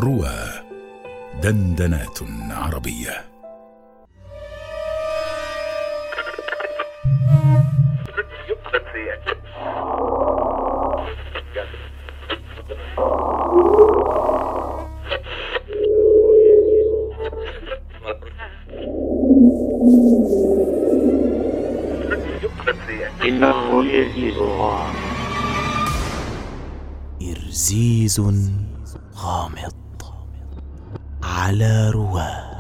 روى. دندنات عربية. إنه يزيدها إرزيز غامض على رواه.